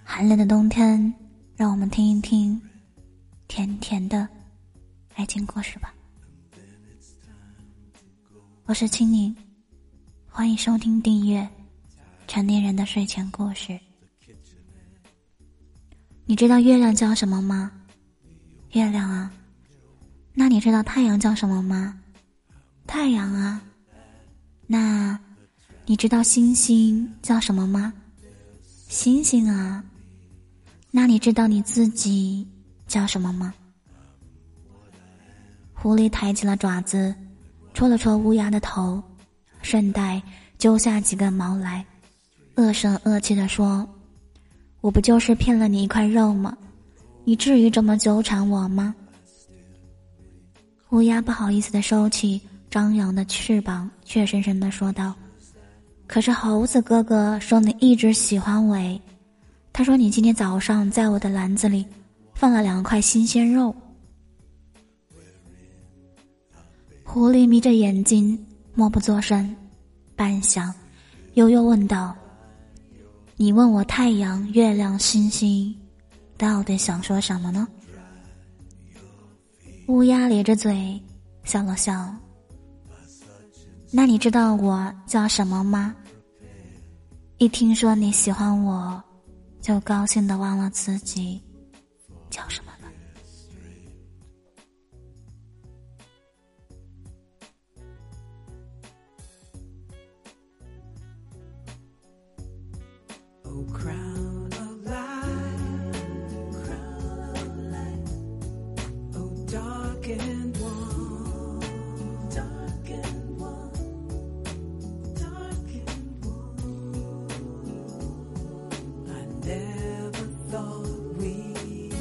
寒冷的冬天，让我们听一听甜甜的爱情故事吧。我是青柠，欢迎收听订阅成年人的睡前故事。你知道月亮叫什么吗？月亮啊。那你知道太阳叫什么吗？太阳啊。那你知道星星叫什么吗？星星啊。那你知道你自己叫什么吗？狐狸抬起了爪子，戳了戳乌鸦的头，顺带揪下几根毛来，恶声恶气地说：我不就是骗了你一块肉吗？你至于这么纠缠我吗？乌鸦不好意思地收起张扬的翅膀，怯生生地说道：可是猴子哥哥说你一直喜欢我诶，他说你今天早上在我的篮子里放了2块新鲜肉。狐狸眯着眼睛默不作声，半晌悠悠问道：你问我太阳、月亮、星星到底想说什么呢？乌鸦咧着嘴笑了笑。那你知道我叫什么吗？一听说你喜欢我，就高兴地忘了自己叫什么了。 Oh, crown of light, crown of light. Oh, dark and warm, dark and warm, dark and warm. I never thought we'd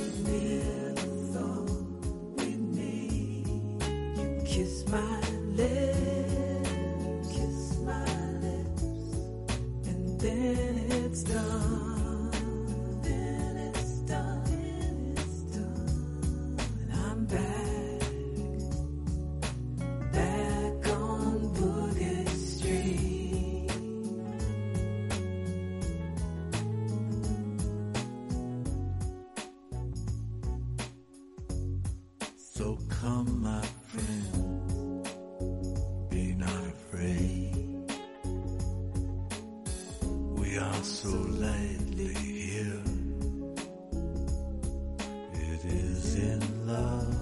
meet. You kiss my lips, and then it's done, and I'm back on Boogie Street. So come, my friend, be not afraid. We are so lightly here. It is in love.